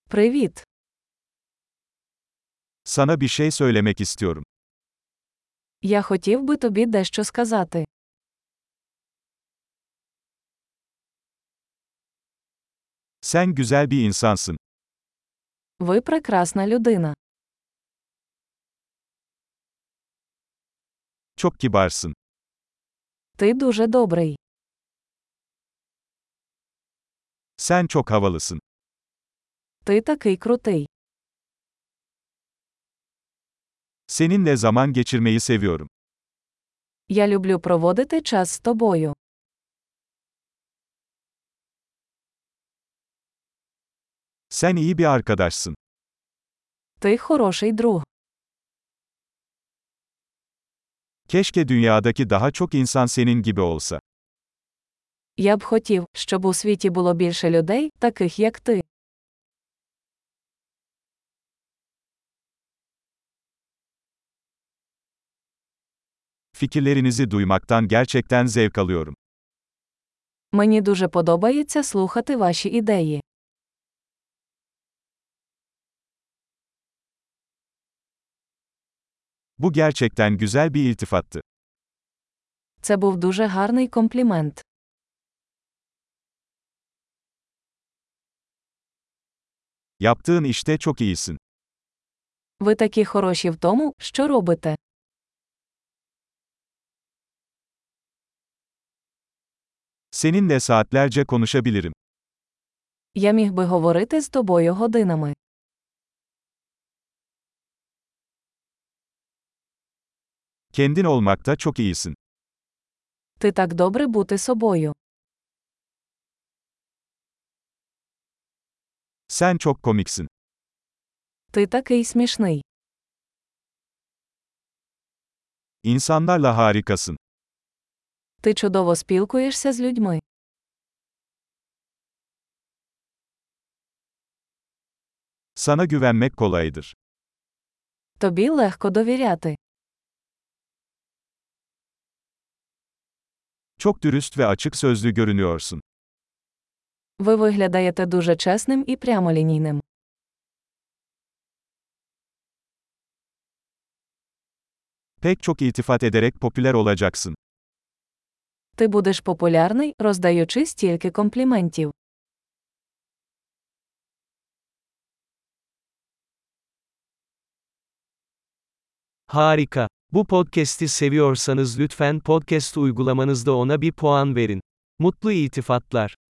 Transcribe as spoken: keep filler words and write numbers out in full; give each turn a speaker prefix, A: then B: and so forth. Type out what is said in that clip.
A: Привіт.
B: Sana bir şey söylemek istiyorum.
A: Я хотів би тобі дещо сказати.
B: Sen güzel bir insansın.
A: Ви прекрасна людина.
B: Çok kibarsın.
A: Ти дуже добрий.
B: Sen çok havalısın.
A: Ти такий крутий.
B: Seninle zaman geçirmeyi seviyorum.
A: Я люблю проводити час з тобою.
B: Sen iyi bir arkadaşsın.
A: Ти хороший друг.
B: Keşke dünyadaki daha çok insan senin gibi olsa.
A: Я б хотів, щоб у світі було більше людей, таких як ти.
B: Fikirlerinizi duymaktan gerçekten zevk alıyorum.
A: Мені дуже подобається слухати ваші ідеї.
B: Bu gerçekten güzel bir iltifattı.
A: Це був дуже гарний комплімент.
B: Yaptığın işte çok iyisin.
A: Ви такі хороші в тому, що робите.
B: Seninle saatlerce konuşabilirim.
A: Я міг би говорити з тобою годинами.
B: Kendin olmakta çok iyisin.
A: Ти так добре бути собою.
B: Sen çok komiksin.
A: Ти такий смішний.
B: İnsanlarla harikasın.
A: Ти чудово спілкуєшся з людьми.
B: Sana güvenmek kolaydır.
A: Тобі легко довіряти.
B: Çok dürüst ve açık sözlü görünüyorsun.
A: Ви виглядаєте дуже чесним і прямолінійним.
B: Pek çok iltifat ederek popüler olacaksın.
A: Ти будеш популярний, роздаючи стільки компліментів.
C: Harika. Bu podcast'i seviyorsanız lütfen podcast uygulamanızda ona bir puan verin. Mutlu iltifatlar.